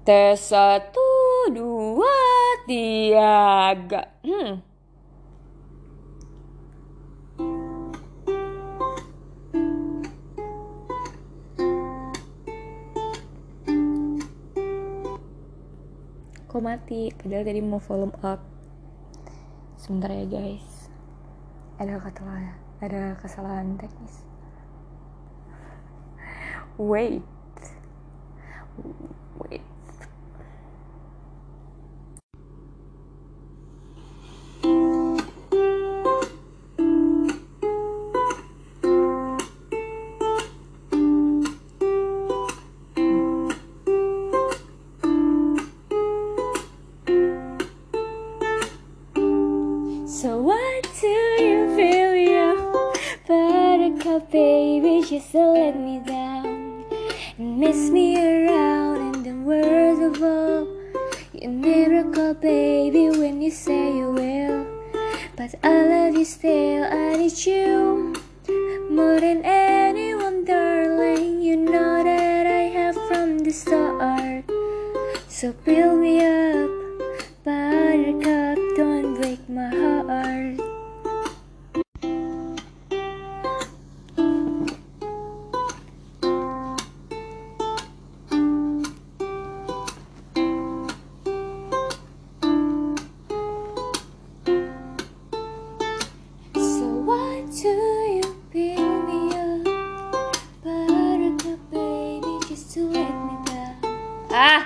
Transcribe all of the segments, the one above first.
Tes 1, 2, 3. Kok mati? Padahal tadi mau volume up. Sebentar ya guys. Ada kesalahan teknis. Wait. So what do you feel, you buttercup baby, just to let me down and miss me around in the words of all. You miracle baby when you say you will, but I love you still. I need you more than anyone, darling. You know that I have from the start. So build me up, buttercup, don't break my heart. So why do you build me up, buttercup baby, just to let me down?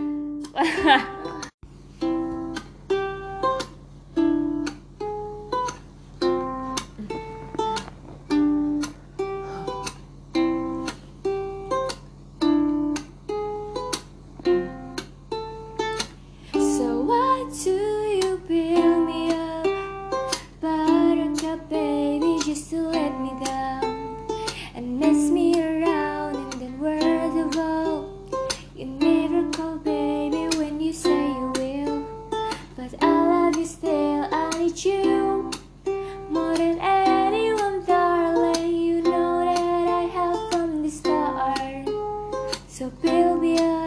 So why do you build me up, buttercup baby, just to let me down and mess me around and then worst of all, you miracle baby when you say you will, but I love you still. I need you more than anyone, darling. You know that I have from the start. So build me up,